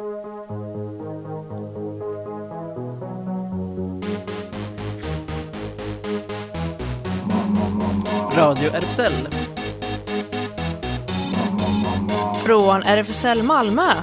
Radio RFSL. Från RFSL Malmö.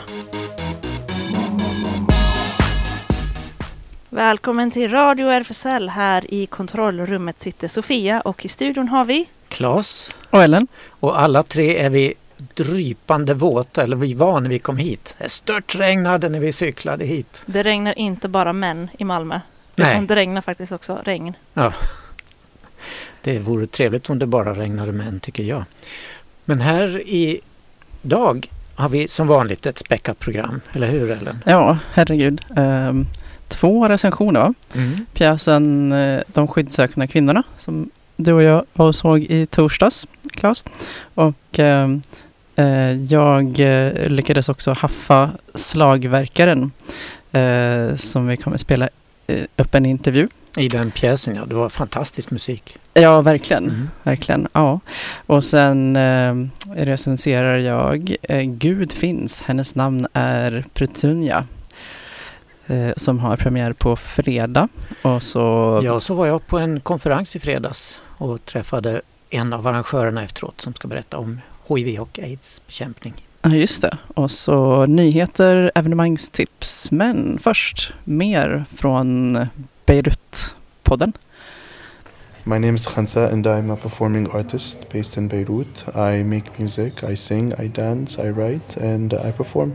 Välkommen till Radio RFSL. Här i kontrollrummet sitter Sofia och i studion har vi Claes och Ellen. Och alla tre är vi drypande våta, eller vi var när vi kom hit. Det störtregnade när vi cyklade hit. Det regnar inte bara män i Malmö. Nej. Utan det regnar faktiskt också regn. Ja. Det vore trevligt om det bara regnade män, tycker jag. Men här idag har vi som vanligt ett späckat program, eller hur Ellen? Ja, herregud. 2 recensioner, va? Pjäsen De skyddssökande kvinnorna som du och jag var och såg i torsdags, Claes. Och jag lyckades också haffa Slagverkaren som vi kommer spela upp en intervju. I den pjäsen, ja. Det var fantastisk musik. Ja, verkligen. Verkligen, ja. Och sen recenserar jag Gud finns. Hennes namn är Petunia. Som har premiär på fredag. Och så... Ja, så var jag på en konferens i fredags och träffade en av arrangörerna efteråt som ska berätta om HIV och AIDS-bekämpning. Ja, just det. Och så nyheter, evenemangstips. Men först mer från Beirut-podden. My name is Khansa and I'm a performing artist based in Beirut. I make music, I sing, I dance, I write and I perform.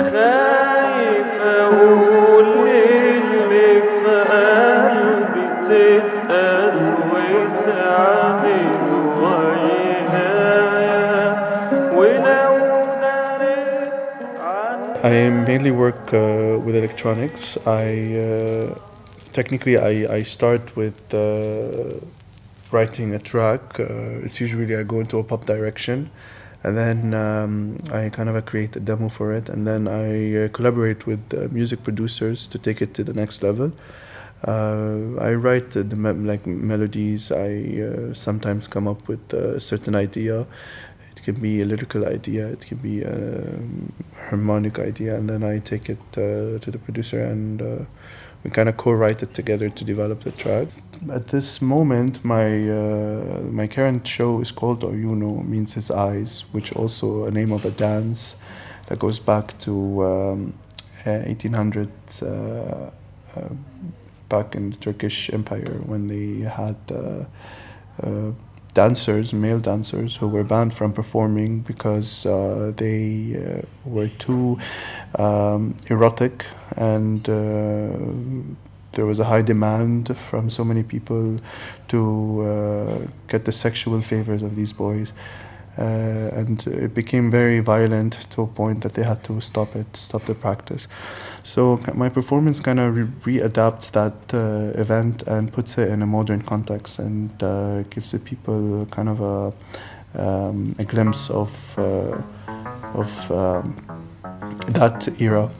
I mainly work with electronics. Technically, I start with writing a track. It's usually I go into a pop direction, and then I kind of create a demo for it, and then I collaborate with music producers to take it to the next level. I write the melodies. I sometimes come up with a certain idea. It can be a lyrical idea, it can be a harmonic idea, and then I take it to the producer and we kind of co-write it together to develop the track. At this moment, my current show is called Oyuno, means his eyes, which also a name of a dance that goes back to 1800s, back in the Turkish Empire when they had dancers, male dancers, who were banned from performing because they were too erotic and there was a high demand from so many people to get the sexual favors of these boys. And it became very violent to a point that they had to stop the practice. So my performance kind of readapts that event and puts it in a modern context and gives the people kind of a glimpse of that era.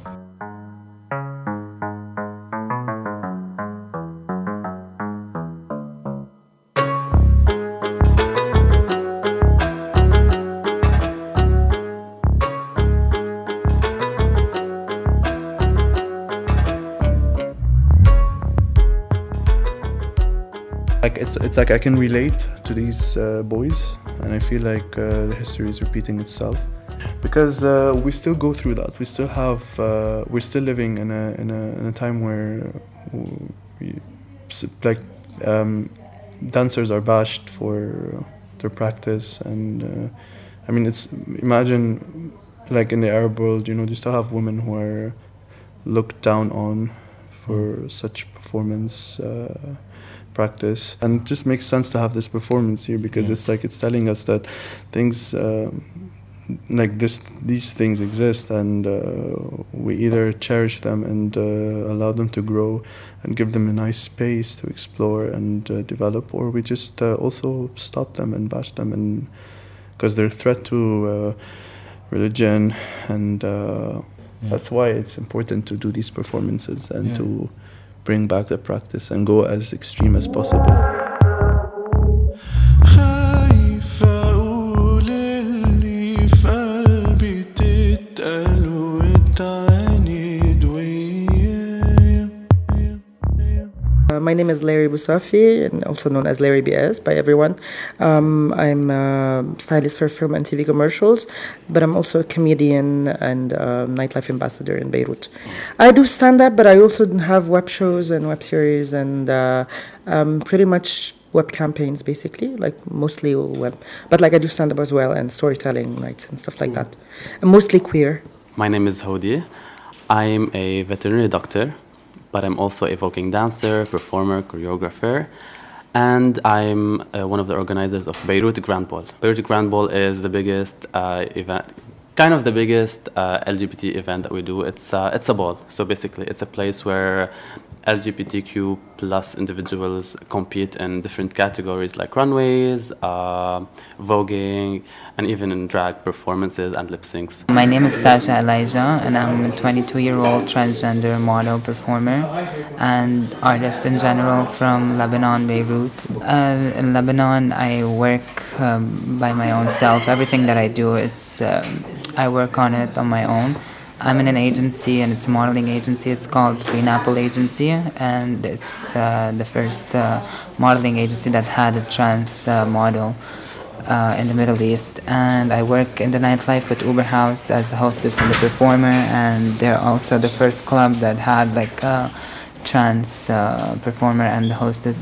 It's like I can relate to these boys, and I feel like the history is repeating itself because we still go through that. We still have we're still living in a time where dancers are bashed for their practice, and I mean imagine like in the Arab world, you still have women who are looked down on for such performance. Practice, and it just makes sense to have this performance here because it's telling us that things like these things exist, and we either cherish them and allow them to grow and give them a nice space to explore and develop, or we just also stop them and bash them, and because they're a threat to religion, and that's why it's important to do these performances and to bring back the practice and go as extreme as possible. قلبي في قلبي تتقل وتعاني My name is Larry Bousafi, and also known as Larry BS by everyone. I'm a stylist for film and TV commercials, but I'm also a comedian and nightlife ambassador in Beirut. I do stand-up, but I also have web shows and web series and pretty much web campaigns, basically, like mostly web. But like I do stand-up as well and storytelling nights and stuff like that. I'm mostly queer. My name is Hodi. I'm a veterinary doctor, but I'm also a voguing dancer, performer, choreographer, and I'm one of the organizers of Beirut Grand Ball. Beirut Grand Ball is the biggest event, kind of the biggest LGBT event that we do. It's a ball, so basically it's a place where LGBTQ plus individuals compete in different categories like runways, voguing, and even in drag performances and lip syncs. My name is Sasha Elijah, and I'm a 22-year-old transgender model, performer, and artist in general from Lebanon, Beirut. In Lebanon, I work by my own self. Everything that I do, I work on it on my own. I'm in an agency, and it's a modeling agency. It's called Green Apple Agency, and it's the first modeling agency that had a trans model in the Middle East. And I work in the nightlife with Uber House as the hostess and the performer, and they're also the first club that had like a trans performer and the hostess.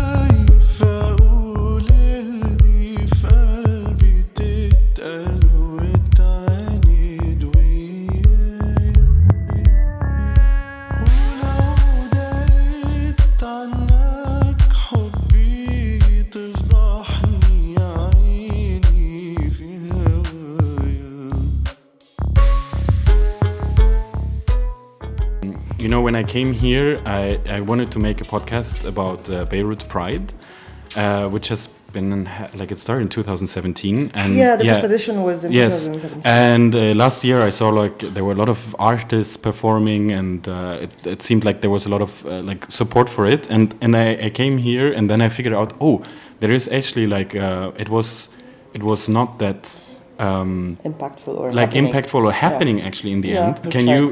You know, when I came here, I wanted to make a podcast about Beirut Pride, which has been, it started in 2017. And the first edition was in 2017. And last year I saw there were a lot of artists performing, and it seemed like there was a lot of support for it. And I came here, and then I figured out, there is actually it was not that impactful or happening actually in the end. Can you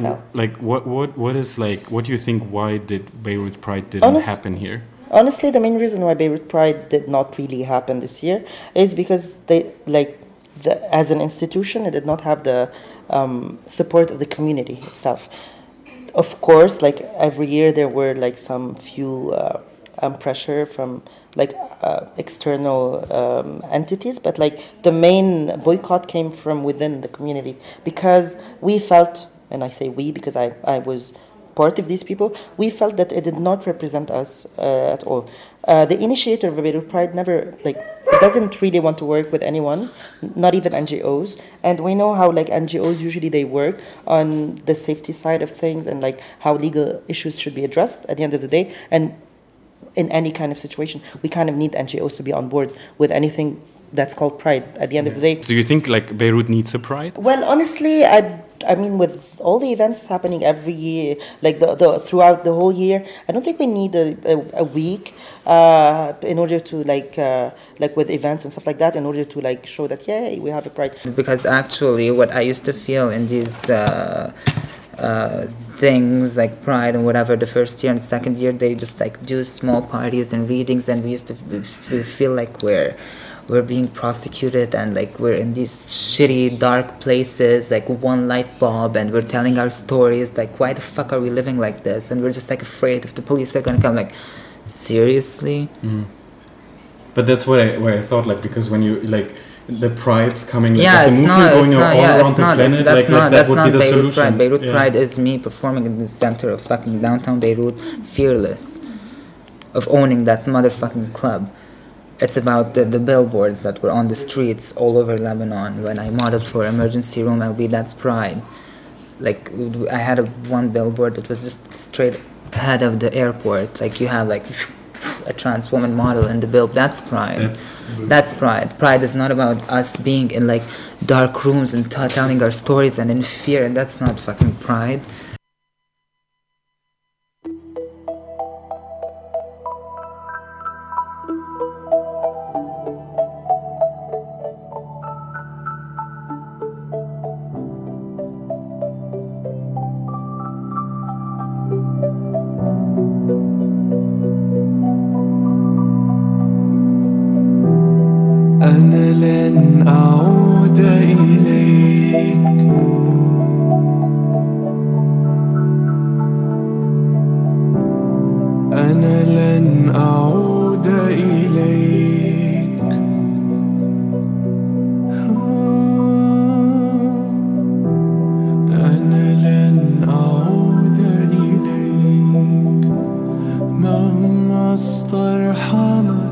what do you think, why did Beirut Pride didn't happen here? Honestly, the main reason why Beirut Pride did not really happen this year is because as an institution, it did not have the support of the community itself. Of course, every year there were some few pressure from external entities, but the main boycott came from within the community, because we felt, and I say we because I was part of these people, we felt that it did not represent us at all. The initiator of Beirut Pride never doesn't really want to work with anyone, not even NGOs, and we know how NGOs usually they work on the safety side of things and how legal issues should be addressed at the end of the day. And in any kind of situation, we kind of need NGOs to be on board with anything that's called Pride at the end of the day. Do you think Beirut needs a Pride? Well, honestly, I mean, with all the events happening every year, throughout the whole year, I don't think we need a week in order to with events and stuff like that, in order to show that yay, we have a Pride. Because actually, what I used to feel in these things like Pride and whatever, the first year and second year, they just do small parties and readings, and we used to feel like we're being prosecuted, and we're in these shitty dark places, one light bulb, and we're telling our stories, why the fuck are we living like this? And we're just afraid if the police are gonna come. Seriously? But that's where I thought, because when you the Pride's coming, there's a movement going all around the planet, that would be the solution. Pride. Beirut Pride is me performing in the center of fucking downtown Beirut, fearless of owning that motherfucking club. It's about the billboards that were on the streets all over Lebanon. When I modeled for Emergency Room LB, that's Pride. I had one billboard that was just straight ahead of the airport. You have a trans woman model in the bill. That's Pride. That's Pride. Pride is not about us being in dark rooms and telling our stories and in fear. And that's not fucking Pride. لن أعود إليك أنا لن أعود إليك أنا لن أعود إليك مهما استرحمت.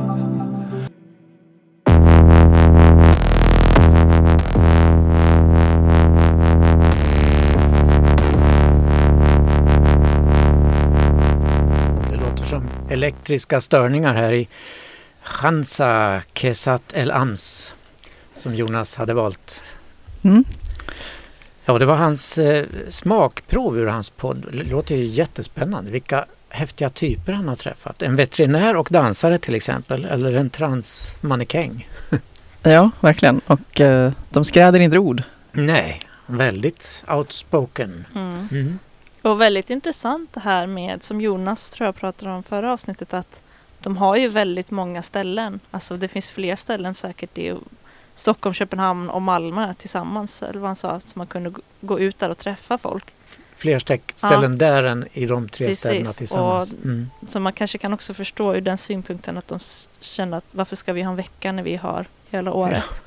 Elektriska störningar här i Khansa Kesat El Ams som Jonas hade valt. Ja, det var hans smakprov ur hans podd. Det låter ju jättespännande. Vilka häftiga typer han har träffat. En veterinär och dansare till exempel. Eller en transmannekäng. Ja, verkligen. Och de skräder inte ord. Nej, väldigt outspoken. Och väldigt intressant det här med, som Jonas tror jag pratade om förra avsnittet, att de har ju väldigt många ställen. Alltså det finns fler ställen säkert i Stockholm, Köpenhamn och Malmö tillsammans. Eller vad han sa, så man kunde gå ut där och träffa folk. Fler ställen där än i de tre städerna tillsammans. Och, så man kanske kan också förstå ur den synpunkten att de känner att varför ska vi ha en vecka när vi har hela året?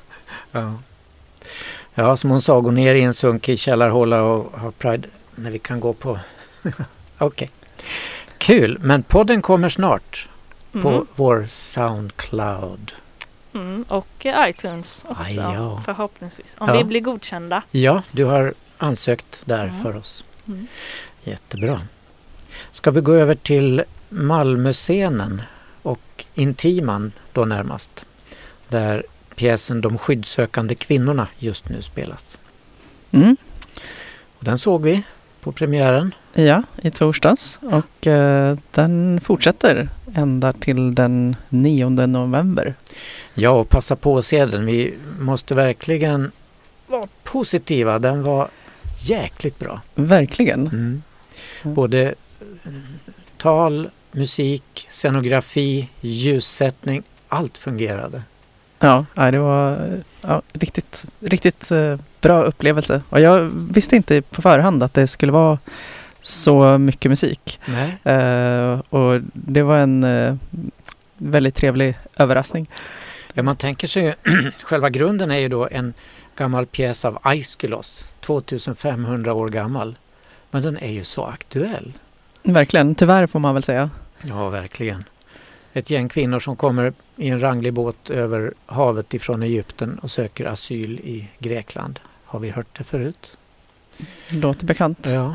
Ja, som hon sa, gå ner i en sunkig källarhåla och ha Pride när vi kan gå på. Okej. Kul, men podden kommer snart på vår Soundcloud. Och iTunes också, ja. förhoppningsvis. Om vi blir godkända. Ja, du har ansökt där för oss. Jättebra. Ska vi gå över till Malmöscenen och Intiman då närmast. Där pjäsen De skyddssökande kvinnorna just nu spelas. Och den såg vi på premiären. Ja, i torsdags. Och den fortsätter ända till den 9 november. Ja, och passa på att se den. Vi måste verkligen vara positiva. Den var jäkligt bra. Verkligen. Både tal, musik, scenografi, ljussättning. Allt fungerade. Ja, det var riktigt bra upplevelse. Och jag visste inte på förhand att det skulle vara så mycket musik. Nej. Och det var en väldigt trevlig överraskning. Ja, man tänker sig själva grunden är ju då en gammal pjäs av Aeschylus, 2500 år gammal. Men den är ju så aktuell. Verkligen, tyvärr får man väl säga. Ja, verkligen. Ett gäng kvinnor som kommer i en ranglig båt över havet ifrån Egypten och söker asyl i Grekland. Har vi hört det förut? Låter bekant. Ja.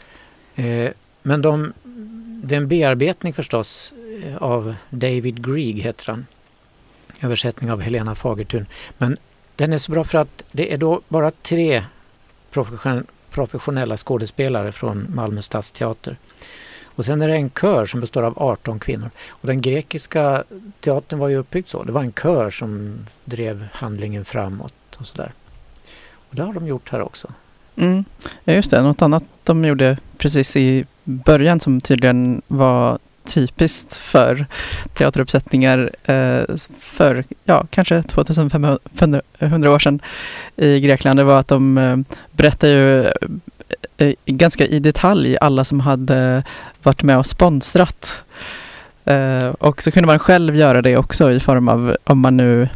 Men det är en bearbetning förstås av David Grieg heter han. Översättning av Helena Fagertun. Men den är så bra för att det är då bara 3 professionella skådespelare från Malmö stadsteater. Och sen är det en kör som består av 18 kvinnor. Och den grekiska teatern var ju uppbyggd så. Det var en kör som drev handlingen framåt och sådär. Och det har de gjort här också. Ja, just det. Något annat de gjorde precis i början som tydligen var typiskt för teateruppsättningar för kanske 2500 år sedan i Grekland. Det var att de berättade ju ganska i detalj alla som hade varit med och sponsrat. Och så kunde man själv göra det också i form av, om man nu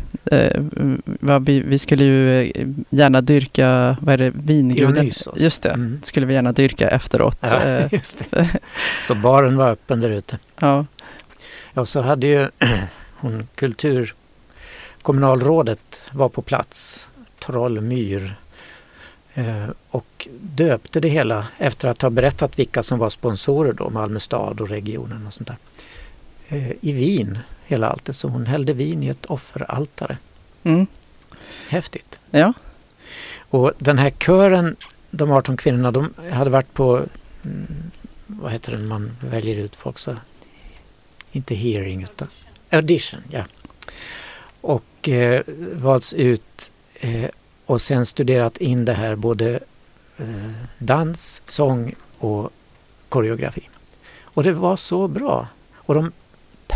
vi skulle ju gärna dyrka, vad är det, vinguden? Just det, skulle vi gärna dyrka efteråt. Ja, just det. Så baren var öppen där ute. Ja. Ja, så hade ju kommunalrådet var på plats, Trollmyr, och döpte det hela efter att ha berättat vilka som var sponsorer då, Malmö stad och regionen och sånt där. I vin, hela allt. Så hon hällde vin i ett offeraltare. Häftigt. Ja. Och den här kören, de 18 kvinnorna, de hade varit på vad heter det, man väljer ut folk så, inte hearing utan audition, ja. Och valts ut och sen studerat in det här både dans, sång och koreografi. Och det var så bra. Och de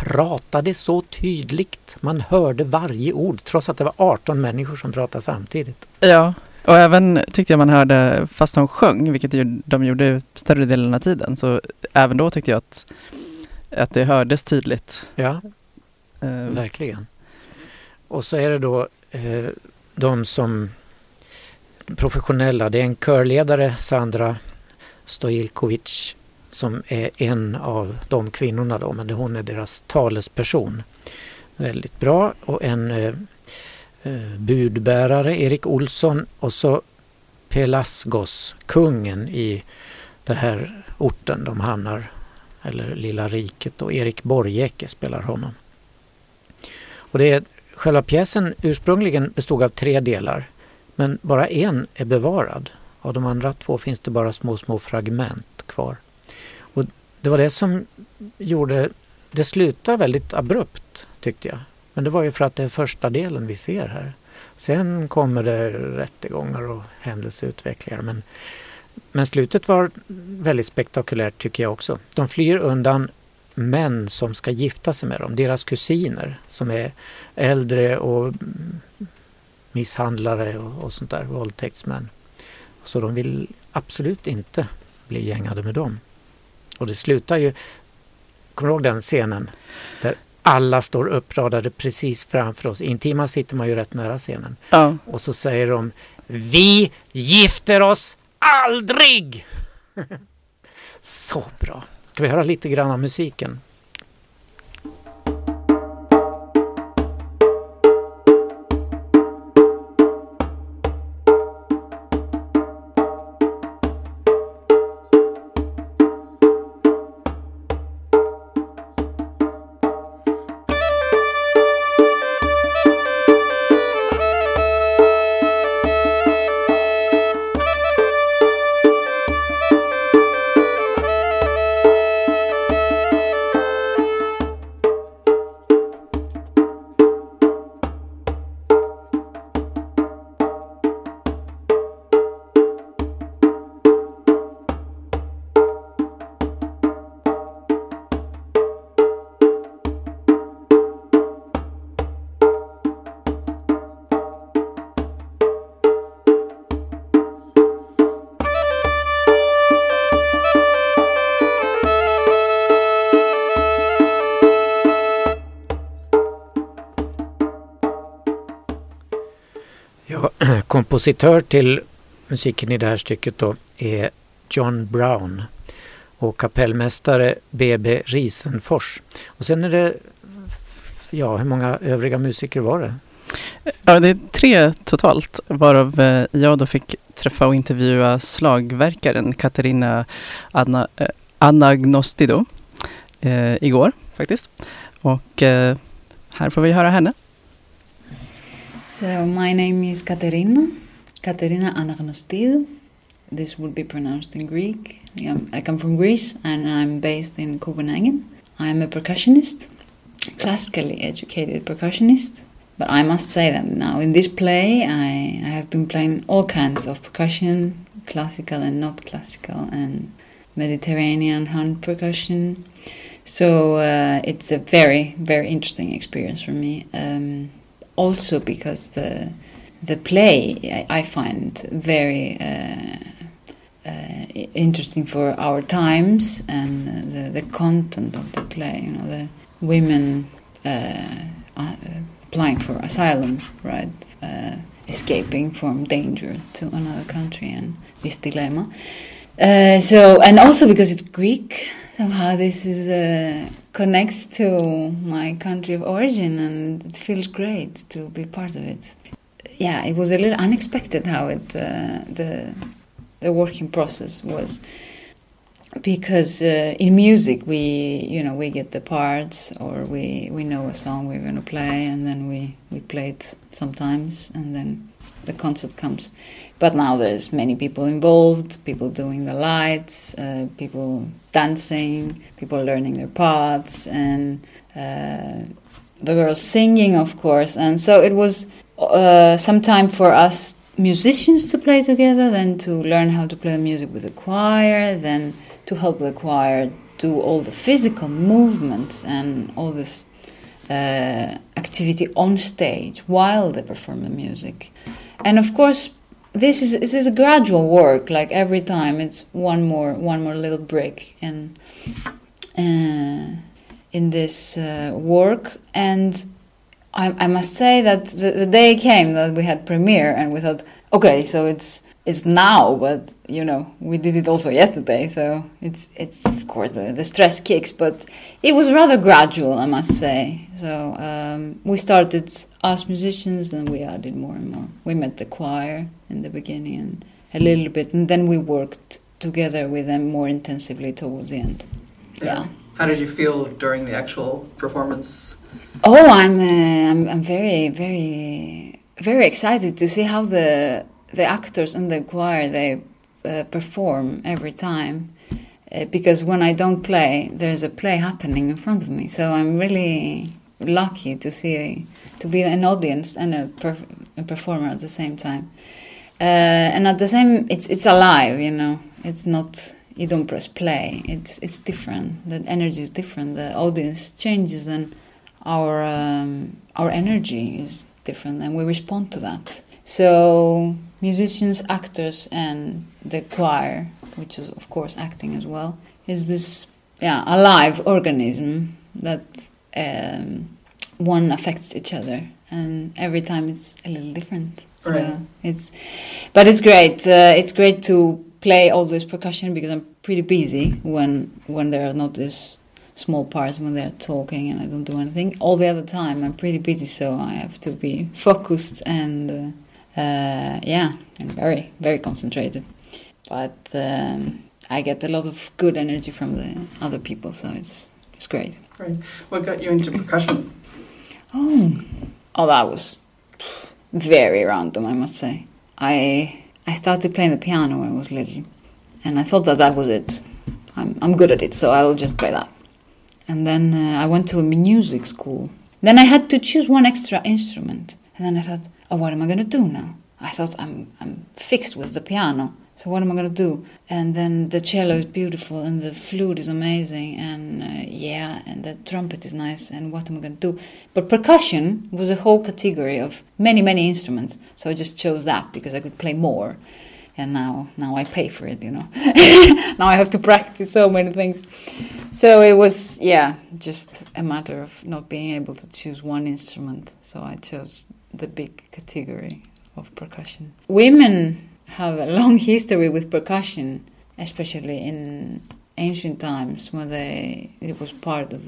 pratade så tydligt. Man hörde varje ord trots att det var 18 människor som pratade samtidigt. Ja, och även tyckte jag man hörde fast de sjöng, vilket de gjorde större delen av tiden. Så även då tyckte jag att det hördes tydligt. Ja, verkligen. Och så är det då de som professionella. Det är en körledare, Sandra Stojilkovic, som är en av de kvinnorna då, men hon är deras talesperson. Väldigt bra. Och en budbärare, Erik Olsson, och så Pelasgos, kungen i den här orten de hamnar, eller lilla riket, och Erik Borgeke spelar honom. Och det är, själva pjäsen ursprungligen bestod av 3 delar, men bara en är bevarad. Av de andra 2 finns det bara små fragment kvar. Och det var det som gjorde, det slutar väldigt abrupt tyckte jag. Men det var ju för att det är första delen vi ser här. Sen kommer det rättegångar och händelseutvecklingar. Men slutet var väldigt spektakulärt tycker jag också. De flyr undan män som ska gifta sig med dem. Deras kusiner som är äldre och misshandlare och sånt där, våldtäktsmän. Så de vill absolut inte bli gängade med dem. Och det slutar ju, kommer du ihåg den scenen där alla står uppradade precis framför oss. Intima sitter man ju rätt nära scenen. Ja. Och så säger de: vi gifter oss aldrig! Så bra. Ska vi höra lite grann av musiken? Kompositör till musiken i det här stycket då är John Brown och kapellmästare B.B. Risenfors. Och sen är det, ja, hur många övriga musiker var det? Ja, det är 3 totalt, varav jag då fick träffa och intervjua slagverkaren Katarina Anagnostido igår faktiskt. Och här får vi höra henne. So my name is Katerina Anagnostido. This would be pronounced in Greek. I come from Greece and I'm based in Copenhagen. I'm a percussionist, classically educated percussionist. But I must say that now in this play I have been playing all kinds of percussion, classical and not classical, and Mediterranean hand percussion. So it's a very, very interesting experience for me. Also because the play I find very interesting for our times, and the content of the play. You know, the women applying for asylum, right? Escaping from danger to another country, and this dilemma. So, and also because it's Greek, somehow this is connects to my country of origin, and it feels great to be part of it. Yeah, it was a little unexpected how it the working process was, because in music we get the parts, or we know a song we're going to play, and then we play it sometimes, and then the concert comes. But now there's many people involved, people doing the lights, people dancing, people learning their parts, and the girls singing, of course. And so it was some time for us musicians to play together, then to learn how to play music with the choir, then to help the choir do all the physical movements and all this activity on stage while they perform the music. And of course, this is a gradual work. Like every time, it's one more little brick in this work. And I must say that the day came that we had premiere, and we thought, okay, so it's now, but we did it also yesterday, so it's of course the stress kicks, but it was rather gradual, I must say. So we started as musicians, and we added more and more. We met the choir in the beginning and a little bit, and then we worked together with them more intensively towards the end. Yeah. How did you feel during the actual performance? Oh, I'm very, very, very excited to see how the actors and the choir, they perform every time, because when I don't play, there's a play happening in front of me. So I'm really lucky to be an audience and a performer at the same time. And at the same, it's alive. It's not, you don't press play. It's different. The energy is different. The audience changes, and our energy is different, and we respond to that. So musicians, actors, and the choir, which is of course acting as well, is this alive organism that one affects each other, and every time it's a little different. Right. So it's great. It's great to play all this percussion, because I'm pretty busy when there are not these small parts, when they're talking and I don't do anything. All the other time I'm pretty busy, so I have to be focused and and very, very concentrated. But I get a lot of good energy from the other people, so it's great. Right. What got you into percussion? Oh, that was very random, I must say. I started playing the piano when I was little, and I thought that was it. I'm good at it, so I'll just play that. And then I went to a music school. Then I had to choose one extra instrument. And then I thought, what am I going to do now? I thought I'm fixed with the piano. So what am I going to do? And then the cello is beautiful, and the flute is amazing, and and the trumpet is nice, and what am I going to do? But percussion was a whole category of many, many instruments. So I just chose that because I could play more. And now I pay for it, Now I have to practice so many things. So it was, just a matter of not being able to choose one instrument. So I chose the big category of percussion. Women have a long history with percussion, especially in ancient times, when it was part of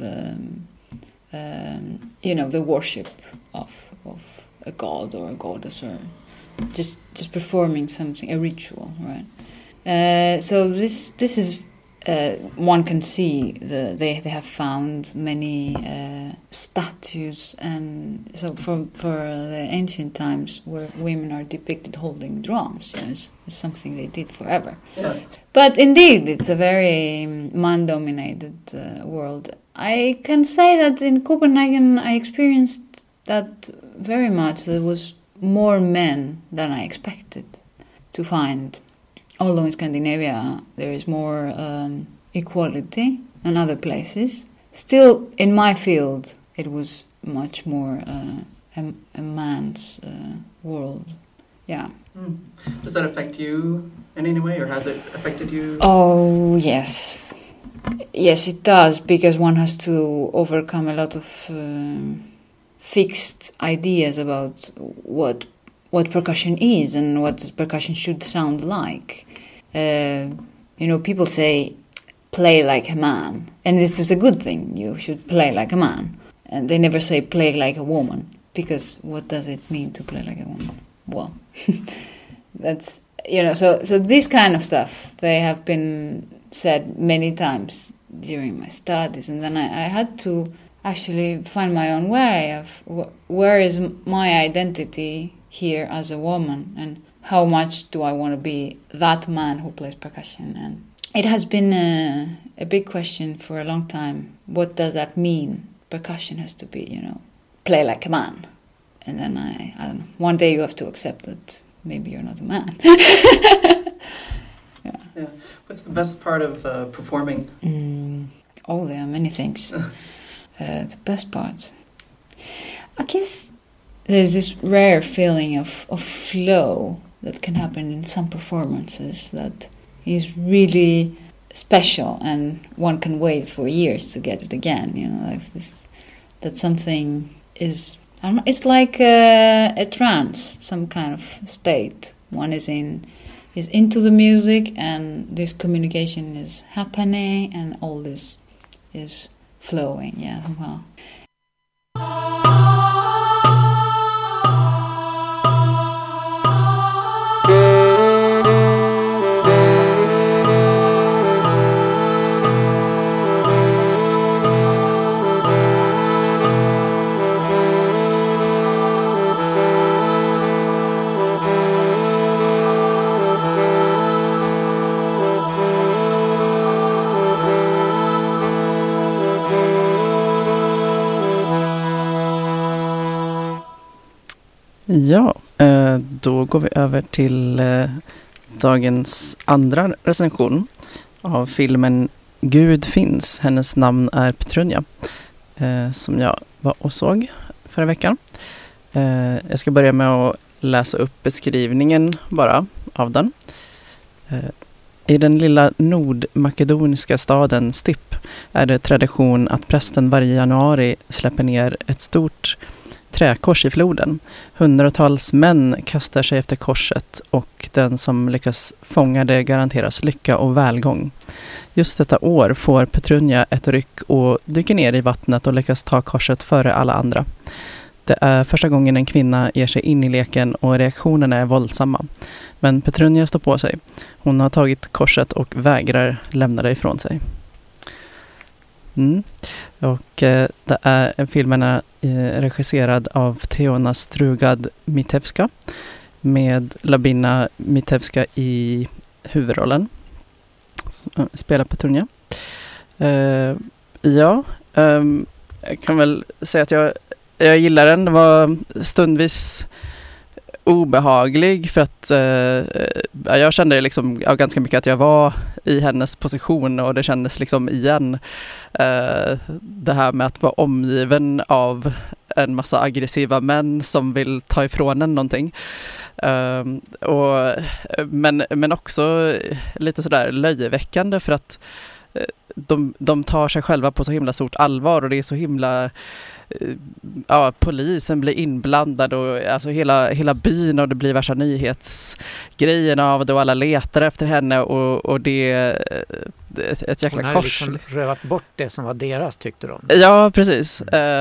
the worship of a god or a goddess, or just performing something, a ritual, right? So this is one can see they have found many statues, and so for the ancient times where women are depicted holding drums, it's something they did forever. Yeah. But indeed, it's a very man-dominated world. I can say that in Copenhagen I experienced that very much. There was more men than I expected to find. Although in Scandinavia there is more equality than other places, still in my field it was much more a man's world. Yeah. Mm. Does that affect you in any way, or has it affected you? Oh, yes. Yes, it does, because one has to overcome a lot of fixed ideas about what percussion is and what percussion should sound like. People say, play like a man. And this is a good thing. You should play like a man. And they never say play like a woman. Because what does it mean to play like a woman? Well, that's, so this kind of stuff, they have been said many times during my studies. And then I had to actually find my own way of where is my identity here as a woman, and how much do I want to be that man who plays percussion. And it has been a big question for a long time. What does that mean? Percussion has to be, play like a man. And then I don't know, one day you have to accept that maybe you're not a man. Yeah. What's the best part of performing? Oh, there are many things. The best part, I guess, there's this rare feeling of flow that can happen in some performances that is really special, and one can wait for years to get it again. You know, like this, that something is, I don't know, it's like a trance, some kind of state. One is into the music, and this communication is happening, and all this is flowing. Yeah, somehow. Ja, då går vi över till dagens andra recension av filmen Gud finns. Hennes namn är Petrunja, som jag var och såg förra veckan. Jag ska börja med att läsa upp beskrivningen bara av den. I den lilla nordmakedoniska staden Stipp är det tradition att prästen varje januari släpper ner ett stort träkors i floden. Hundratals män kastar sig efter korset och den som lyckas fånga det garanteras lycka och välgång. Just detta år får Petrunja ett ryck och dyker ner i vattnet och lyckas ta korset före alla andra. Det är första gången en kvinna ger sig in i leken och reaktionerna är våldsamma. Men Petrunja står på sig. Hon har tagit korset och vägrar lämna det ifrån sig. Och filmen är regisserad av Teona Strugad-Mitevska med Labina Mitevska i huvudrollen. Spelar Petrunja. Jag kan väl säga att jag gillar den. Det var stundvis obehaglig för att jag kände liksom ganska mycket att jag var i hennes position, och det kändes liksom igen det här med att vara omgiven av en massa aggressiva män som vill ta ifrån en någonting. Men också lite sådär löjeväckande för att de tar sig själva på så himla stort allvar, och det är så himla polisen blir inblandad och alltså hela byn, och det blir värsta nyhetsgrejen av det, och alla letar efter henne, och det är ett jäkla kors. Hon har liksom rövat bort det som var deras, tyckte de. Ja, precis.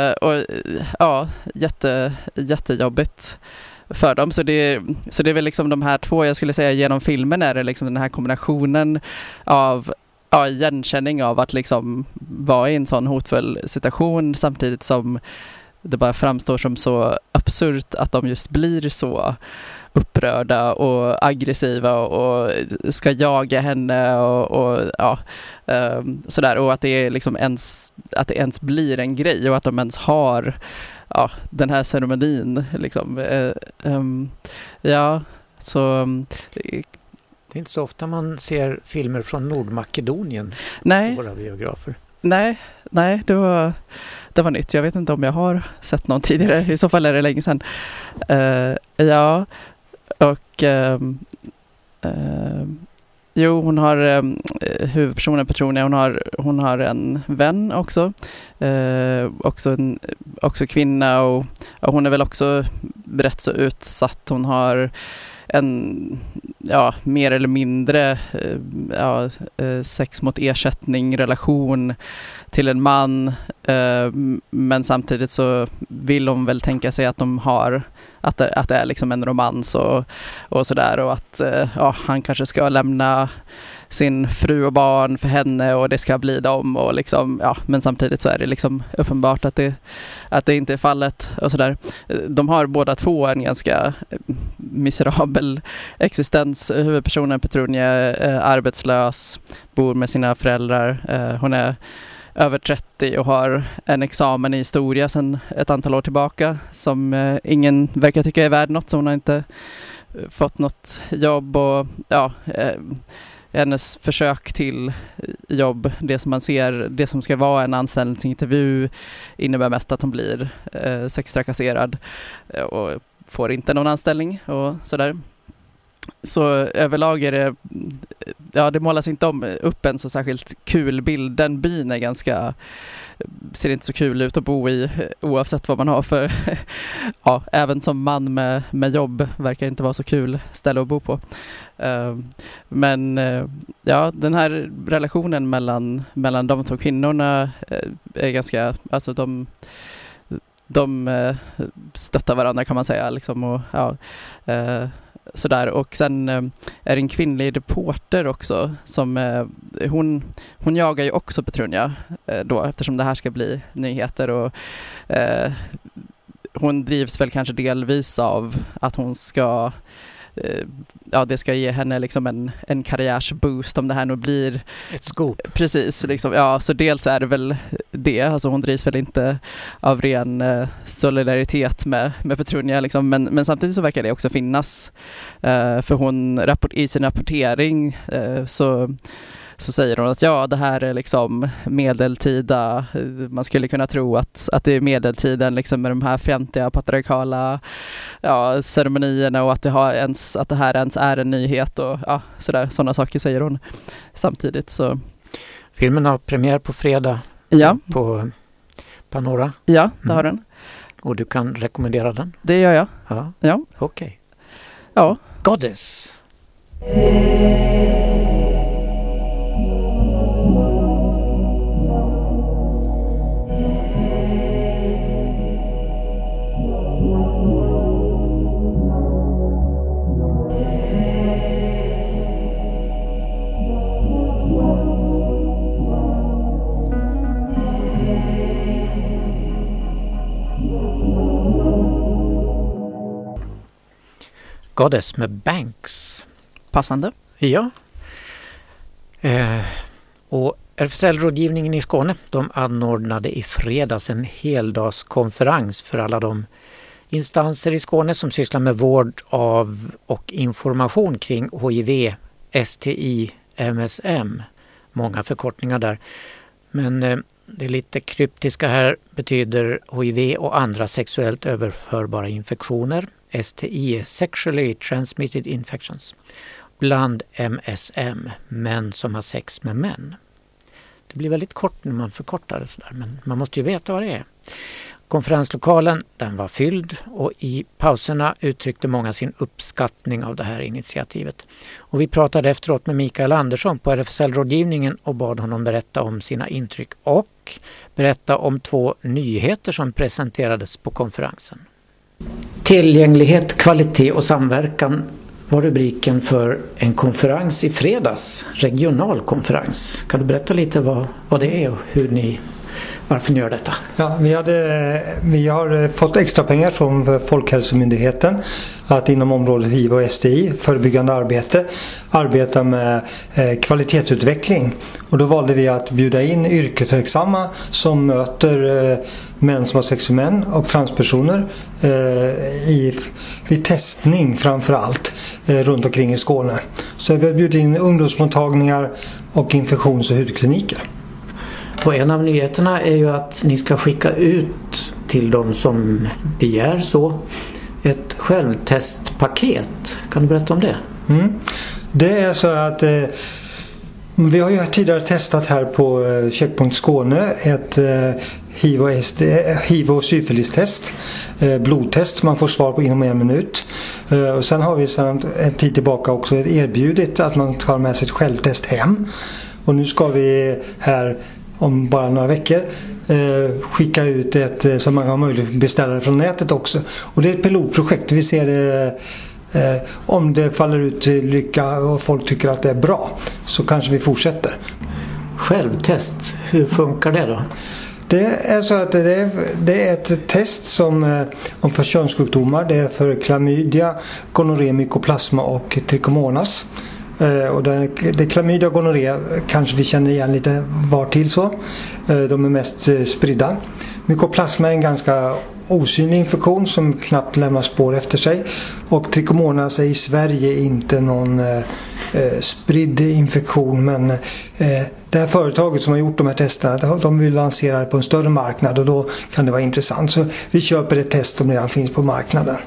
Jättejobbigt för dem. Så det är väl liksom de här två, jag skulle säga, genom filmen är det liksom den här kombinationen av igenkänning av att liksom vara i en sån hotfull situation, samtidigt som det bara framstår som så absurt att de just blir så upprörda och aggressiva och ska jaga henne och sådär, och att det är liksom ens blir en grej, och att de ens har den här ceremonin liksom. Så det är inte så ofta man ser filmer från Nordmakedonien på våra biografer. Nej, det var nytt. Jag vet inte om jag har sett någon tidigare. I så fall är det länge sedan. Hon har huvudpersonen Petrunja, hon har en vän också. Också kvinna, och hon är väl också rätt så utsatt. Hon har en mer eller mindre sex mot ersättning relation till en man, men samtidigt så vill hon väl tänka sig att de har att det är liksom en romans och sådär, och att han kanske ska lämna sin fru och barn för henne, och det ska bli dem, och liksom, men samtidigt så är det liksom uppenbart att det inte är fallet och sådär. De har båda två en ganska miserabel existens. Huvudpersonen Petrunja är arbetslös, bor med sina föräldrar. Hon är över 30 och har en examen i historia sedan ett antal år tillbaka som ingen verkar tycka är värd något, så hon har inte fått något jobb, och hennes försök till jobb, det som man ser, det som ska vara en anställningsintervju, innebär mest att hon blir sextrakasserad och får inte någon anställning och sådär. Så överlag är det, det målas inte upp en så särskilt kul bild. Den byn är ganska, ser inte så kul ut att bo i oavsett vad man har för, även som man med jobb verkar inte vara så kul ställe att bo på. Men den här relationen mellan de två kvinnorna är ganska, alltså de stöttar varandra kan man säga liksom, och sådär. Och sen är det en kvinnlig reporter också som hon jagar ju också Petrunja då, eftersom det här ska bli nyheter, och hon drivs väl kanske delvis av att hon ska det ska ge henne liksom en karriärsboost om det här nu blir ett scoop. Precis, liksom, så dels är det väl det, alltså hon drivs väl inte av ren solidaritet med Petrunja liksom, men samtidigt så verkar det också finnas, för hon i sin rapportering så säger hon att det här är liksom medeltida, man skulle kunna tro att det är medeltiden liksom, med de här fjantiga patriarkala ceremonierna, och att det här ens är en nyhet och sådana saker säger hon samtidigt. Så. Filmen har premiär på fredag på Panora. Ja, det har den. Och du kan rekommendera den? Det gör jag. Ja. Okej. Ja. Goddess. Goddess med Banks. Passande. Ja. Och RFSL-rådgivningen i Skåne, de anordnade i fredags en heldagskonferens för alla de instanser i Skåne som sysslar med vård av och information kring HIV, STI, MSM. Många förkortningar där. Men det lite kryptiska här betyder HIV och andra sexuellt överförbara infektioner. STI är Sexually Transmitted Infections. Bland MSM, män som har sex med män. Det blir väldigt kort när man förkortar det sådär, men man måste ju veta vad det är. Konferenslokalen, den var fylld, och i pauserna uttryckte många sin uppskattning av det här initiativet. Och vi pratade efteråt med Mikael Andersson på RFSL-rådgivningen och bad honom berätta om sina intryck och berätta om 2 nyheter som presenterades på konferensen. Tillgänglighet, kvalitet och samverkan var rubriken för en konferens i fredags, regional konferens. Kan du berätta lite vad det är och varför ni gör detta? Ja, vi har fått extra pengar från Folkhälsomyndigheten att inom området HIV och STI, förebyggande arbeta med kvalitetsutveckling. Och då valde vi att bjuda in yrkesverksamma som möter män som har sex med män och transpersoner vid testning framförallt runt omkring i Skåne. Så vi har bjudit in ungdomsmottagningar och infektions- och hudkliniker. Och en av nyheterna är ju att ni ska skicka ut till de som begär så ett självtestpaket. Kan du berätta om det? Det är så att vi har ju tidigare testat här på Checkpoint Skåne ett HIV- och syfilistest, blodtest man får svar på inom 1 minut. Och sen har vi sedan en tid tillbaka också erbjudit att man tar med sig ett självtest hem. Och nu ska vi här om bara några veckor skicka ut ett som man har möjlighet att beställa från nätet också. Och det är ett pilotprojekt. Vi ser om det faller ut till lycka och folk tycker att det är bra, så kanske vi fortsätter. Självtest, hur funkar det då? Det är så att det är ett test som om för könssjukdomar. Det är för klamydia, gonorré, mykoplasma och trichomonas. Och det klamydia och gonorré kanske vi känner igen lite var till så. De är mest spridda. Mykoplasma är en ganska osynlig infektion som knappt lämnar spår efter sig. Och trichomonas är i Sverige inte någon spridd infektion, men det här företaget som har gjort de här testerna, de vill lansera det på en större marknad och då kan det vara intressant. Så vi köper ett test som redan finns på marknaden.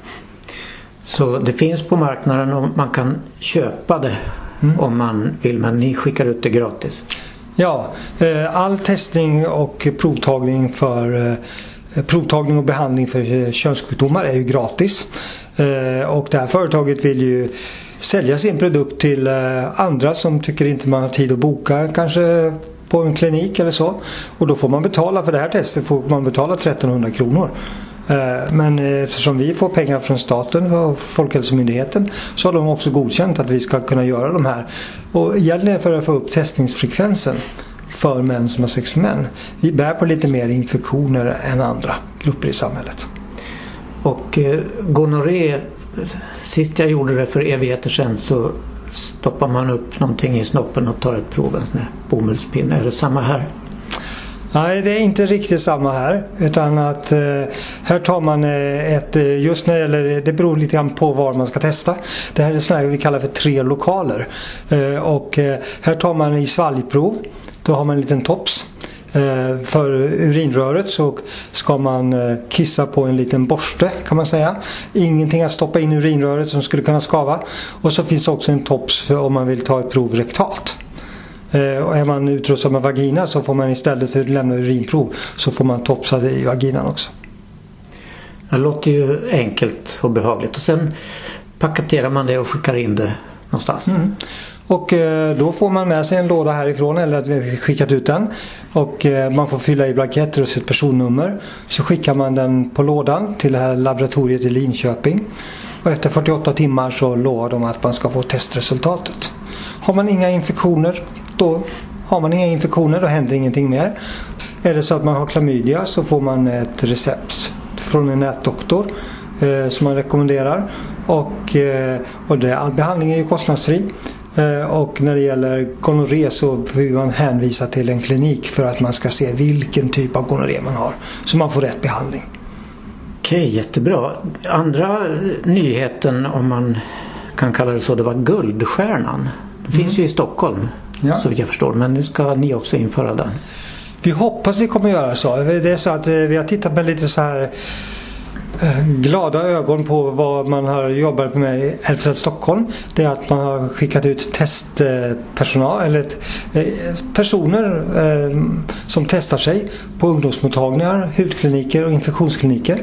Så det finns på marknaden och man kan köpa det om man vill, men ni skickar ut det gratis? Ja, all testning och provtagning och behandling för könssjukdomar är ju gratis. Och det här företaget vill ju sälja sin produkt till andra som tycker inte man har tid att boka kanske på en klinik eller så. Och då får man betala för det här testet, får man betala 1300 kronor. Men eftersom vi får pengar från staten och Folkhälsomyndigheten så har de också godkänt att vi ska kunna göra de här. Och egentligen för att få upp testningsfrekvensen för män som har sex med män. Vi bär på lite mer infektioner än andra grupper i samhället. Och gonorré, sist jag gjorde det för evigheter sedan så stoppar man upp någonting i snoppen och tar ett prov, en sån här bomullspinne. Är det samma här? Nej, det är inte riktigt samma här, utan att här tar man just när det gäller, det beror lite grann på var man ska testa. Det här är sådana här vi kallar för 3 lokaler. Och här tar man i svalgprov, då har man en liten tops. För urinröret så ska man kissa på en liten borste, kan man säga. Ingenting att stoppa in i urinröret som skulle kunna skava. Och så finns också en tops för om man vill ta ett prov rektalt. Och är man utrustad med vagina så får man istället för att lämna urinprov så får man topsa i vaginan också. Det låter ju enkelt och behagligt. Och sen paketerar man det och skickar in det någonstans. Och då får man med sig en låda härifrån, eller att vi skickat ut den. Och man får fylla i blanketter och sitt personnummer. Så skickar man den på lådan till det här laboratoriet i Linköping. Och efter 48 timmar så lovar de att man ska få testresultatet. Har man inga infektioner, då händer ingenting mer. Är det så att man har klamydia så får man ett recept från en nätdoktor som man rekommenderar. Och all behandling är ju kostnadsfri. Och när det gäller gonorré så vill man hänvisa till en klinik för att man ska se vilken typ av gonorré man har. Så man får rätt behandling. Okej, jättebra. Andra nyheten, om man kan kalla det så, det var Guldstjärnan. Det finns ju i Stockholm, så vitt jag förstår. Men nu ska ni också införa den. Vi hoppas vi kommer göra så. Det är så att vi har tittat med lite så här glada ögon på vad man har jobbat med i Älvsted Stockholm. Det är att man har skickat ut testpersonal eller personer som testar sig på ungdomsmottagningar, hudkliniker och infektionskliniker.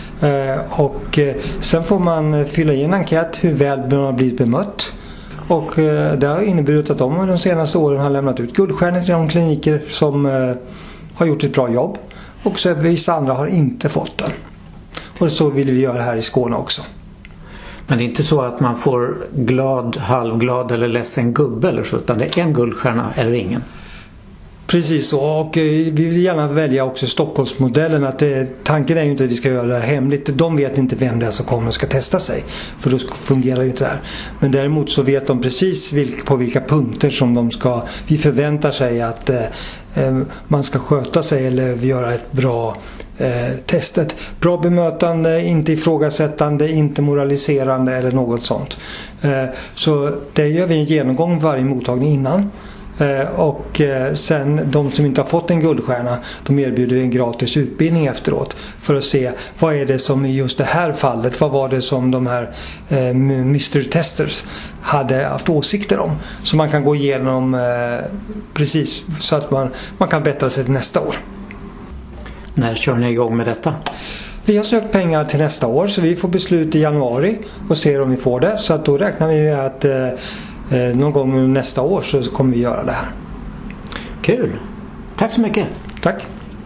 Och sen får man fylla i en enkät hur väl man har blivit bemött. Och det har inneburit att de senaste åren har lämnat ut guldstjärnor till de kliniker som har gjort ett bra jobb. Och så vissa andra har inte fått den. Och så vill vi göra här i Skåne också. Men det är inte så att man får glad, halvglad eller ledsen gubbe eller så, utan det är en guldstjärna eller ingen? Precis så, och vi vill gärna välja också Stockholmsmodellen. Att tanken är ju inte att vi ska göra det här hemligt. De vet inte vem det är som kommer och ska testa sig. För då fungerar ju inte det här. Men däremot så vet de precis på vilka punkter som vi förväntar sig att man ska sköta sig eller göra ett bra testet. Bra bemötande, inte ifrågasättande, inte moraliserande eller något sånt. Så det gör vi en genomgång varje mottagning innan. Och sen de som inte har fått en guldstjärna, de erbjuder en gratis utbildning efteråt för att se vad är det som i just det här fallet, vad var det som de här mystery testers hade haft åsikter om, så man kan gå igenom precis så att man kan bättra sig till nästa år. När kör ni igång med detta? Vi har sökt pengar till nästa år, så vi får beslut i januari och ser om vi får det. Så att då räknar vi med att någon gång nästa år så kommer vi göra det här. Kul! Tack så mycket! Tack!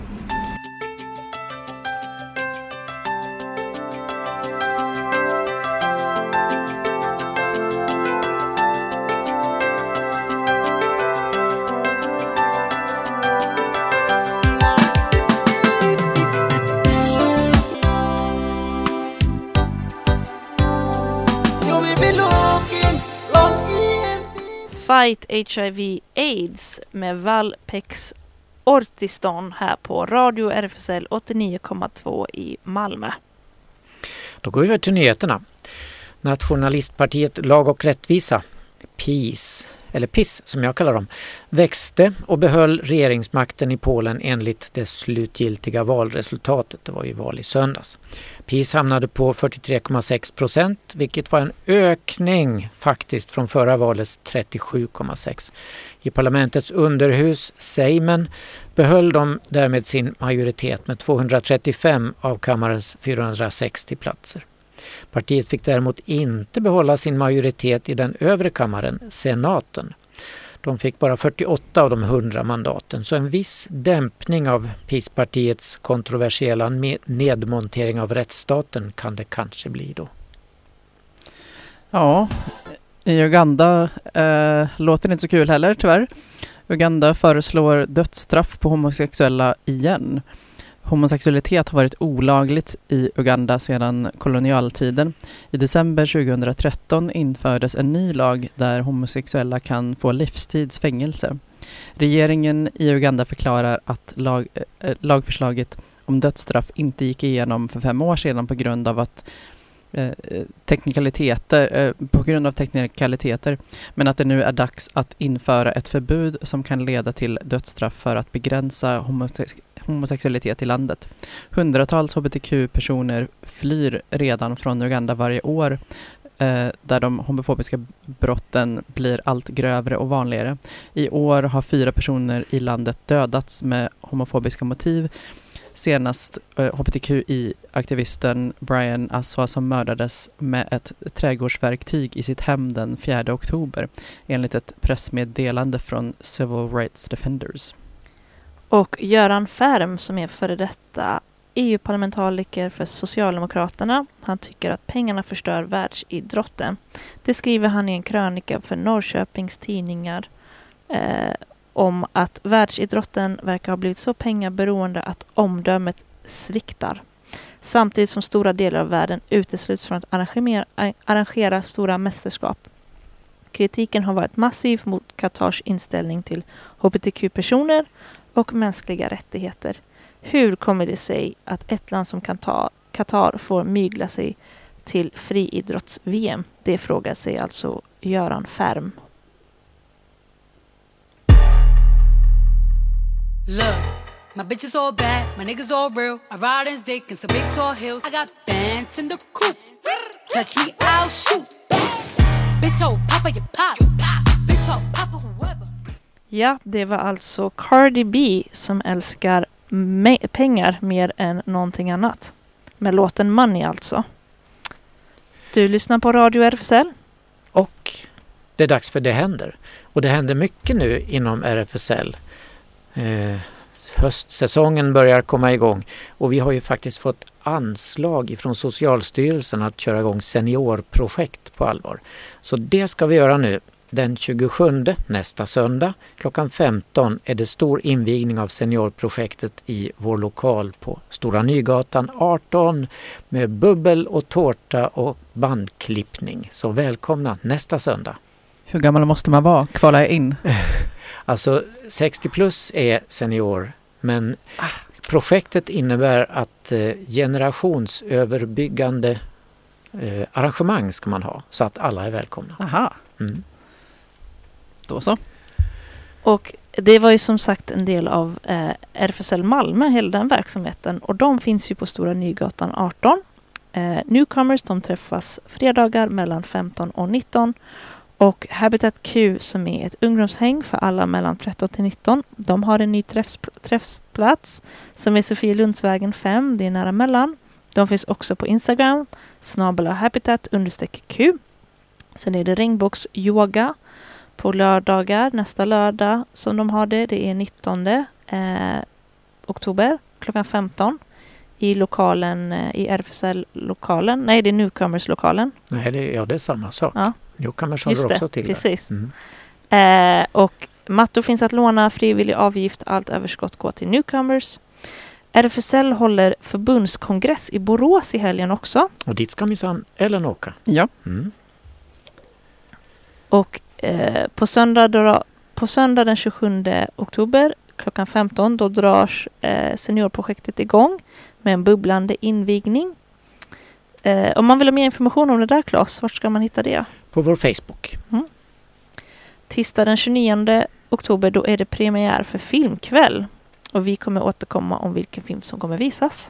Fight HIV AIDS med Valpex Ortiston här på Radio RFSL 89,2 i Malmö. Då går vi över till nyheterna. Nationalistpartiet Lag och rättvisa PiS, eller PiS som jag kallar dem, växte och behöll regeringsmakten i Polen enligt det slutgiltiga valresultatet. Det var ju val i söndags. PiS hamnade på 43,6%, vilket var en ökning faktiskt från förra valets 37,6%. I parlamentets underhus, Sejmen, behöll de därmed sin majoritet med 235 av kammarens 460 platser. Partiet fick däremot inte behålla sin majoritet i den övre kammaren, senaten. De fick bara 48 av de 100 mandaten, så en viss dämpning av PiS-partiets kontroversiella nedmontering av rättsstaten kan det kanske bli då. Ja, i Uganda låter det inte så kul heller tyvärr. Uganda föreslår dödsstraff på homosexuella igen. Homosexualitet har varit olagligt i Uganda sedan kolonialtiden. I december 2013 infördes en ny lag där homosexuella kan få livstidsfängelse. Regeringen i Uganda förklarar att lagförslaget om dödsstraff inte gick igenom för 5 år sedan på grund av teknikaliteter, men att det nu är dags att införa ett förbud som kan leda till dödsstraff för att begränsa homosexualitet i landet. Hundratals hbtq-personer flyr redan från Uganda varje år, där de homofobiska brotten blir allt grövre och vanligare. I år har 4 personer i landet dödats med homofobiska motiv. Senast hbtqi-aktivisten Brian Aswa som mördades med ett trädgårdsverktyg i sitt hem den 4 oktober, enligt ett pressmeddelande från Civil Rights Defenders. Och Göran Färm, som är före detta EU-parlamentariker för Socialdemokraterna, han tycker att pengarna förstör världsidrotten. Det skriver han i en krönika för Norrköpings tidningar om att världsidrotten verkar ha blivit så pengaberoende att omdömet sviktar. Samtidigt som stora delar av världen utesluts från att arrangera stora mästerskap. Kritiken har varit massiv mot Qatars inställning till hbtq-personer och mänskliga rättigheter. Hur kommer det sig att ett land som Qatar får mygla sig till friidrotts-VM? Det frågar sig alltså Göran Färm. Look, my bitches all bad, my niggas all real. I ride in dick in some big tall hills. I got bands in the coop. Touch me, I'll shoot. Bitch, oh, papa, you pop. Bitch, oh, papa, whoever. Ja, det var alltså Cardi B som älskar pengar mer än någonting annat. Med låten Money alltså. Du lyssnar på Radio RFSL. Och det är dags för Det händer. Och det händer mycket nu inom RFSL. Höstsäsongen börjar komma igång och vi har ju faktiskt fått anslag ifrån Socialstyrelsen att köra igång seniorprojekt på allvar. Så det ska vi göra nu. Den 27 nästa söndag klockan 15 är det stor invigning av seniorprojektet i vår lokal på Stora Nygatan 18 med bubbel och tårta och bandklippning. Så välkomna nästa söndag. Hur gammal måste man vara? Kvala jag in? Alltså 60 plus är senior, men projektet innebär att generationsöverbyggande arrangemang ska man ha så att alla är välkomna. Aha. Mm. Då så. Och det var ju som sagt en del av RFSL Malmö, hela den verksamheten. Och de finns ju på Stora Nygatan 18. Newcomers, de träffas fredagar mellan 15 och 19. Och Habitat Q, som är ett ungdomshäng för alla mellan 13 till 19. De har en ny träffsplats som är Sofielundsvägen 5. Det är nära mellan. De finns också på Instagram, @habitat_Q. Sen är det regnbågsyoga på lördagar, nästa lördag som de har det. Det är 19 oktober klockan 15 i lokalen, i RFSL-lokalen. Nej, det är Newcomers-lokalen. Nej, det är samma sak. Ja. Newcomers håller också till precis. där. Mm. Och mattor finns att låna, frivillig avgift, allt överskott går till Newcomers. RFSL håller förbundskongress i Borås i helgen också. Och dit ska minsann Ellen åka. Ja. Mm. Och på söndag den 27 oktober klockan 15 då drar seniorprojektet igång med en bubblande invigning. Om man vill ha mer information om det där, Claes, vart ska man hitta det? På vår Facebook. Mm. Tisdag den 29 oktober då är det premiär för filmkväll. Och vi kommer återkomma om vilken film som kommer visas.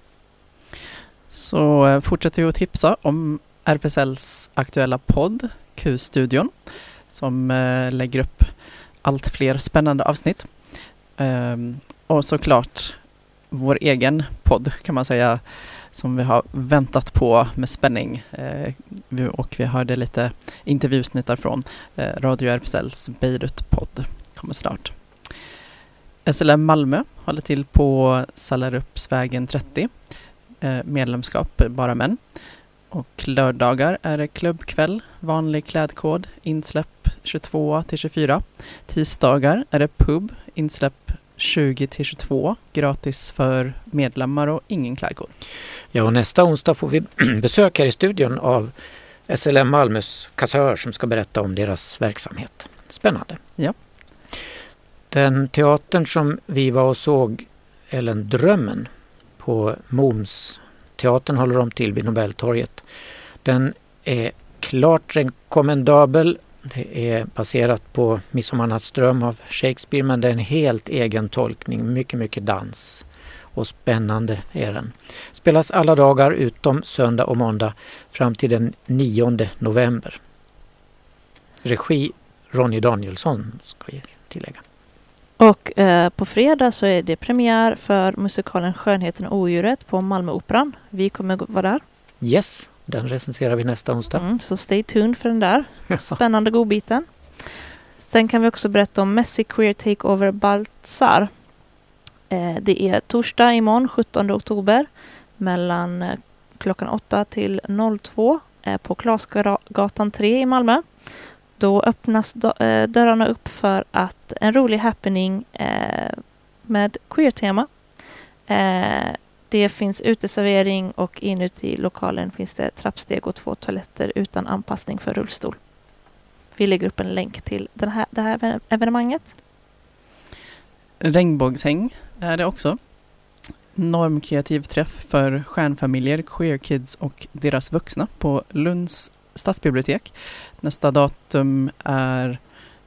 Så fortsätter vi att tipsa om RFSLs aktuella podd, Q-studion, som lägger upp allt fler spännande avsnitt. Och såklart vår egen podd kan man säga, som vi har väntat på med spänning. Och vi hörde lite intervjusnittar från Radio RFSLs Beirut-podd. Kommer snart. SLM Malmö håller till på Sallarupsvägen 30. Medlemskap bara män. Och lördagar är det klubbkväll, vanlig klädkod, insläpp 22-24. Tisdagar är det pub, insläpp 20-22, gratis för medlemmar och ingen klädkod. Ja, och nästa onsdag får vi besök här i studion av SLM Malmös kassör som ska berätta om deras verksamhet. Spännande. Ja. Den teatern som vi var och såg, Ellen Drömmen, på Moms teatern håller de till vid Nobeltorget. Den är klart rekommendabel. Det är baserat på Midsommarnattsdröm av Shakespeare, men det är en helt egen tolkning. Mycket, mycket dans. Och spännande är den. Spelas alla dagar utom söndag och måndag fram till den 9 november. Regi Ronny Danielsson ska jag tillägga. Och på fredag så är det premiär för musikalen Skönheten och odjuret på Malmöoperan. Vi kommer vara där. Yes, den recenserar vi nästa onsdag. Så stay tuned för den där spännande godbiten. Sen kan vi också berätta om Messy Queer Takeover Baltzar. Det är torsdag imorgon 17 oktober mellan klockan 8 till 02 på Klasgatan 3 i Malmö. Då öppnas dörrarna upp för att en rolig happening med queer-tema. Det finns uteservering och inuti lokalen finns det trappsteg och 2 toaletter utan anpassning för rullstol. Vi lägger upp en länk till det här evenemanget. Regnbågshäng är det också. Normkreativ träff för stjärnfamiljer, queer kids och deras vuxna på Lunds stadsbibliotek. Nästa datum är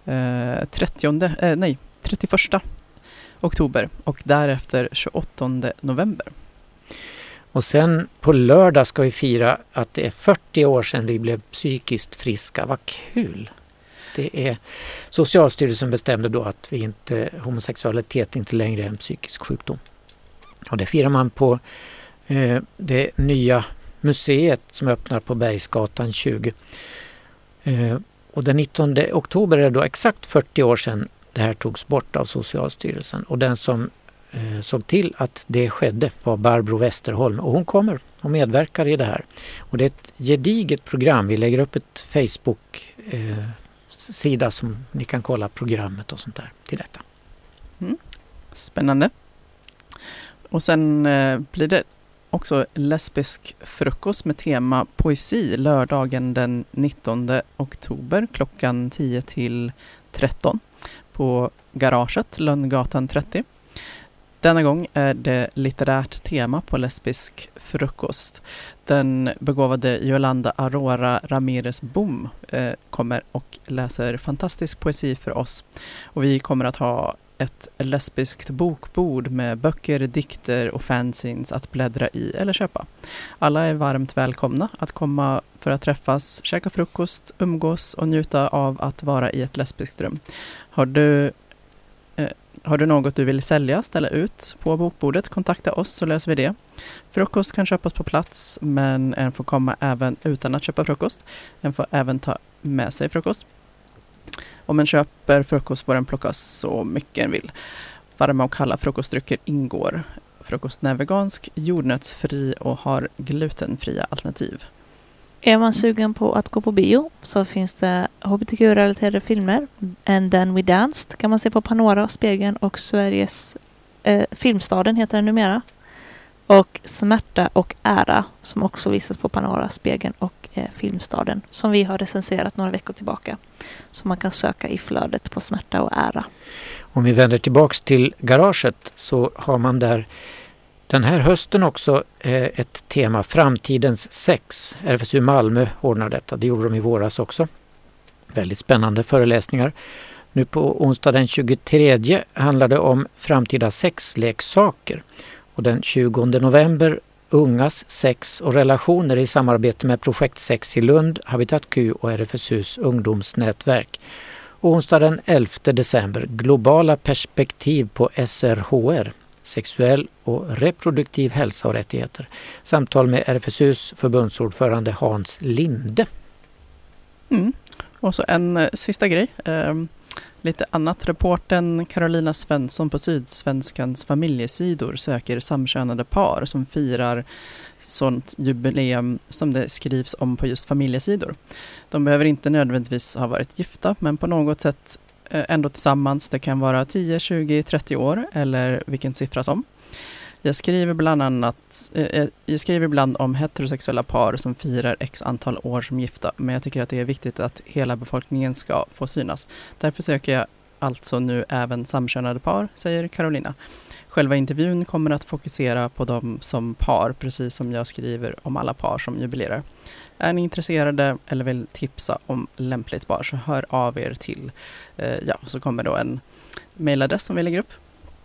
31 oktober och därefter 28 november. Och sen på lördag ska vi fira att det är 40 år sedan vi blev psykiskt friska. Vad kul! Det är Socialstyrelsen bestämde då att homosexualitet inte längre är en psykisk sjukdom. Och det firar man på det nya museet som öppnar på Bergsgatan 20. Och den 19 oktober är det då exakt 40 år sedan det här togs bort av Socialstyrelsen. Och den som såg till att det skedde var Barbro Westerholm. Och hon kommer och medverkar i det här. Och det är ett gediget program. Vi lägger upp ett Facebook-sida som ni kan kolla programmet och sånt där till detta. Spännande. Och sen blir det också lesbisk frukost med tema poesi lördagen den 19 oktober klockan 10 till 13 på Garaget, Lönngatan 30. Denna gång är det litterärt tema på lesbisk frukost. Den begåvade Yolanda Aurora Ramirez Bom kommer och läser fantastisk poesi för oss. Och vi kommer att ha ett lesbiskt bokbord med böcker, dikter och fanzines att bläddra i eller köpa. Alla är varmt välkomna att komma för att träffas, käka frukost, umgås och njuta av att vara i ett lesbiskt rum. Har du något du vill sälja, ställa ut på bokbordet, kontakta oss så löser vi det. Frukost kan köpas på plats, men en får komma även utan att köpa frukost. En får även ta med sig frukost. Om en köper frukost får den plockas så mycket en vill. Varma och kalla frukostdrycker ingår. Frukosten är vegansk, jordnötsfri och har glutenfria alternativ. Är man sugen på att gå på bio så finns det hbtq-relaterade filmer. And Then We Danced kan man se på Panora och Spegeln och Sveriges Filmstaden heter den numera. Och Smärta och ära som också visas på Panora, Spegeln och Filmstaden som vi har recenserat några veckor tillbaka. Så man kan söka i flödet på Smärta och ära. Om vi vänder tillbaks till Garaget så har man där den här hösten också ett tema Framtidens sex. RFSU Malmö ordnar detta. Det gjorde de i våras också. Väldigt spännande föreläsningar. Nu på onsdag den 23 handlar det om framtida sexleksaker. Och den 20 november ungas sex och relationer i samarbete med Projekt Sex i Lund, Habitat Q och RFSUs ungdomsnätverk. Och onsdag den 11 december globala perspektiv på SRHR, sexuell och reproduktiv hälsa och rättigheter. Samtal med RFSUs förbundsordförande Hans Linde. Och så en sista grej. Lite annat. Reporten Carolina Svensson på Sydsvenskans familjesidor söker samkönade par som firar sånt jubileum som det skrivs om på just familjesidor. De behöver inte nödvändigtvis ha varit gifta, men på något sätt ändå tillsammans. Det kan vara 10, 20, 30 år eller vilken siffra som. Jag skriver ibland om heterosexuella par som firar x antal år som gifta, men jag tycker att det är viktigt att hela befolkningen ska få synas. Därför söker jag alltså nu även samkönade par, säger Carolina. Själva intervjun kommer att fokusera på dem som par, precis som jag skriver om alla par som jubilerar. Är ni intresserade eller vill tipsa om lämpligt par så hör av er till, så kommer då en mailadress som vi lägger upp.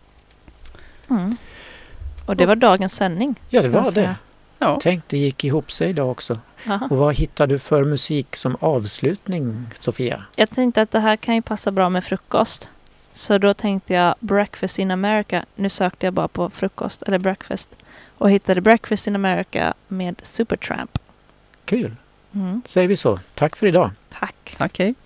Och det var dagens sändning. Ja, det var det. Ja. Tänk, det gick ihop sig idag också. Aha. Och vad hittar du för musik som avslutning, Sofia? Jag tänkte att det här kan ju passa bra med frukost. Så då tänkte jag Breakfast in America. Nu sökte jag bara på frukost eller breakfast. Och hittade Breakfast in America med Supertramp. Kul. Säger vi så. Tack för idag. Tack. Tack, hej.